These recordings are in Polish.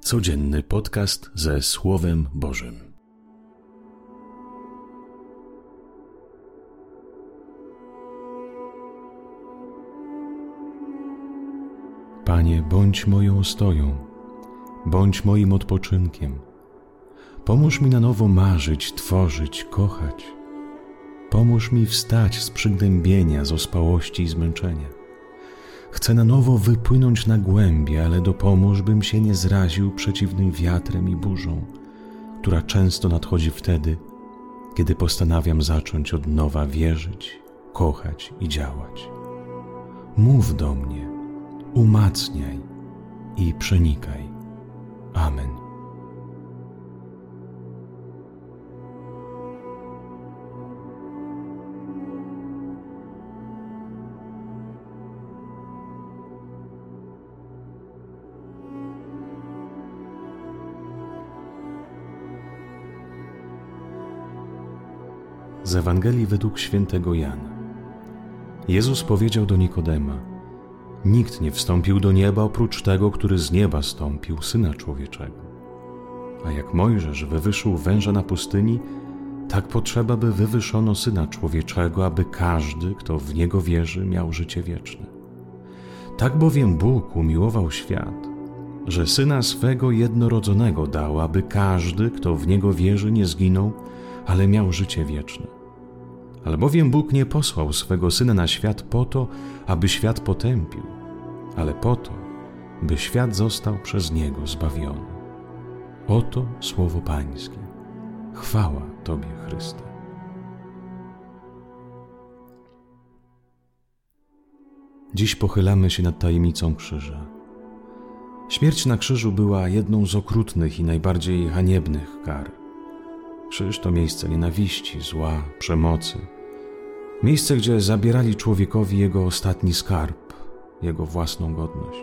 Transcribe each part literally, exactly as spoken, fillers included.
Codzienny podcast ze Słowem Bożym. Panie, bądź moją ostoją, bądź moim odpoczynkiem. Pomóż mi na nowo marzyć, tworzyć, kochać. Pomóż mi wstać z przygnębienia, z ospałości i zmęczenia. Chcę na nowo wypłynąć na głębie, ale dopomóż, bym się nie zraził przeciwnym wiatrem i burzą, która często nadchodzi wtedy, kiedy postanawiam zacząć od nowa wierzyć, kochać i działać. Mów do mnie, umacniaj i przenikaj. Amen. Z Ewangelii według świętego Jana. Jezus powiedział do Nikodema: nikt nie wstąpił do nieba oprócz tego, który z nieba stąpił, Syna Człowieczego. A jak Mojżesz wywyższył węża na pustyni, tak potrzeba, by wywyższono Syna Człowieczego, aby każdy, kto w Niego wierzy, miał życie wieczne. Tak bowiem Bóg umiłował świat, że Syna swego jednorodzonego dał, aby każdy, kto w Niego wierzy, nie zginął, ale miał życie wieczne. Albowiem Bóg nie posłał swego Syna na świat po to, aby świat potępił, ale po to, by świat został przez Niego zbawiony. Oto słowo Pańskie. Chwała Tobie, Chryste. Dziś pochylamy się nad tajemnicą krzyża. Śmierć na krzyżu była jedną z okrutnych i najbardziej haniebnych kar. Krzyż to miejsce nienawiści, zła, przemocy. Miejsce, gdzie zabierali człowiekowi jego ostatni skarb, jego własną godność.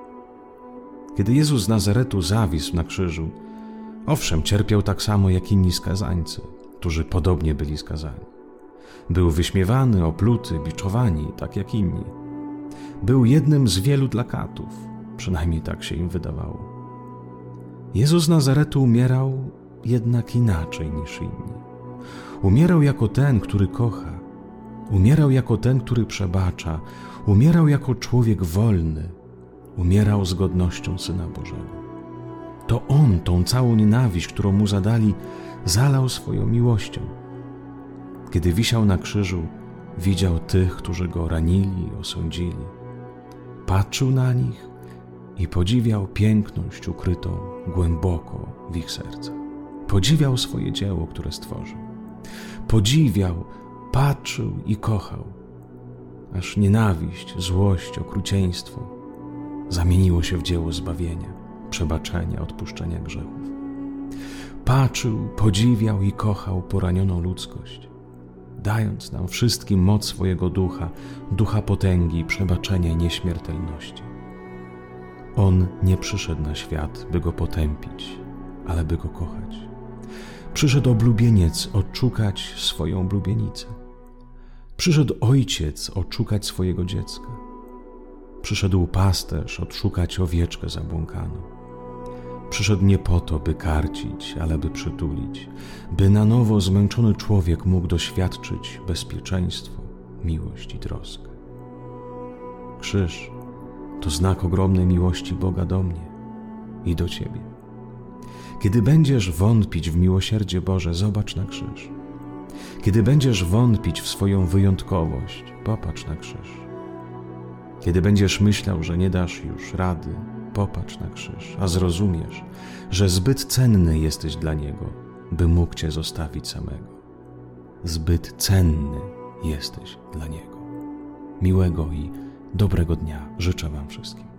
Kiedy Jezus z Nazaretu zawisł na krzyżu, owszem, cierpiał tak samo jak inni skazańcy, którzy podobnie byli skazani. Był wyśmiewany, opluty, biczowani, tak jak inni. Był jednym z wielu plakatów, przynajmniej tak się im wydawało. Jezus z Nazaretu umierał jednak inaczej niż inni. Umierał jako ten, który kocha. Umierał jako ten, który przebacza. Umierał jako człowiek wolny. Umierał z godnością Syna Bożego. To On tą całą nienawiść, którą Mu zadali, zalał swoją miłością. Kiedy wisiał na krzyżu, widział tych, którzy Go ranili i osądzili. Patrzył na nich i podziwiał piękność ukrytą głęboko w ich sercach. Podziwiał swoje dzieło, które stworzył. Podziwiał, patrzył i kochał, aż nienawiść, złość, okrucieństwo zamieniło się w dzieło zbawienia, przebaczenia, odpuszczenia grzechów. Patrzył, podziwiał i kochał poranioną ludzkość, dając nam wszystkim moc swojego ducha, ducha potęgi, przebaczenia i nieśmiertelności. On nie przyszedł na świat, by go potępić, ale by go kochać. Przyszedł oblubieniec odszukać swoją oblubienicę. Przyszedł ojciec odszukać swojego dziecka. Przyszedł pasterz odszukać owieczkę zabłąkaną. Przyszedł nie po to, by karcić, ale by przytulić, by na nowo zmęczony człowiek mógł doświadczyć bezpieczeństwo, miłość i troskę. Krzyż to znak ogromnej miłości Boga do mnie i do Ciebie. Kiedy będziesz wątpić w miłosierdzie Boże, zobacz na krzyż. Kiedy będziesz wątpić w swoją wyjątkowość, popatrz na krzyż. Kiedy będziesz myślał, że nie dasz już rady, popatrz na krzyż, a zrozumiesz, że zbyt cenny jesteś dla Niego, by mógł Cię zostawić samego. Zbyt cenny jesteś dla Niego. Miłego i dobrego dnia życzę Wam wszystkim.